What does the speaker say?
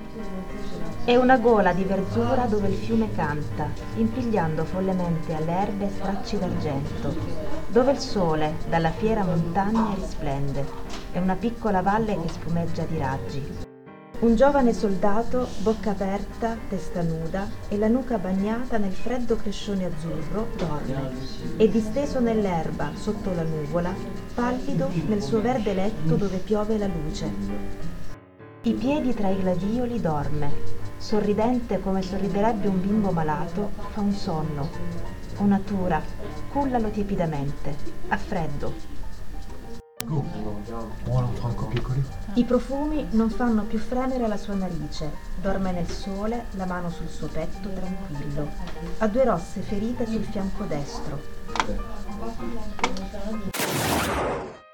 È una gola di verdura dove il fiume canta, impigliando follemente alle erbe stracci d'argento, dove il sole dalla fiera montagna risplende, è una piccola valle che spumeggia di raggi. Un giovane soldato, bocca aperta, testa nuda e la nuca bagnata nel freddo crescione azzurro, dorme, e disteso nell'erba sotto la nuvola, pallido nel suo verde letto dove piove la luce. I piedi tra i gladioli dorme, sorridente come sorriderebbe un bimbo malato, fa un sonno. O natura, cullalo tiepidamente, ha freddo. Go. Bon, alors on fera un copier-coller. I profumi non fanno più fremere la sua narice, dorme nel sole, la mano sul suo petto tranquillo. Ha due rosse ferite sul fianco destro.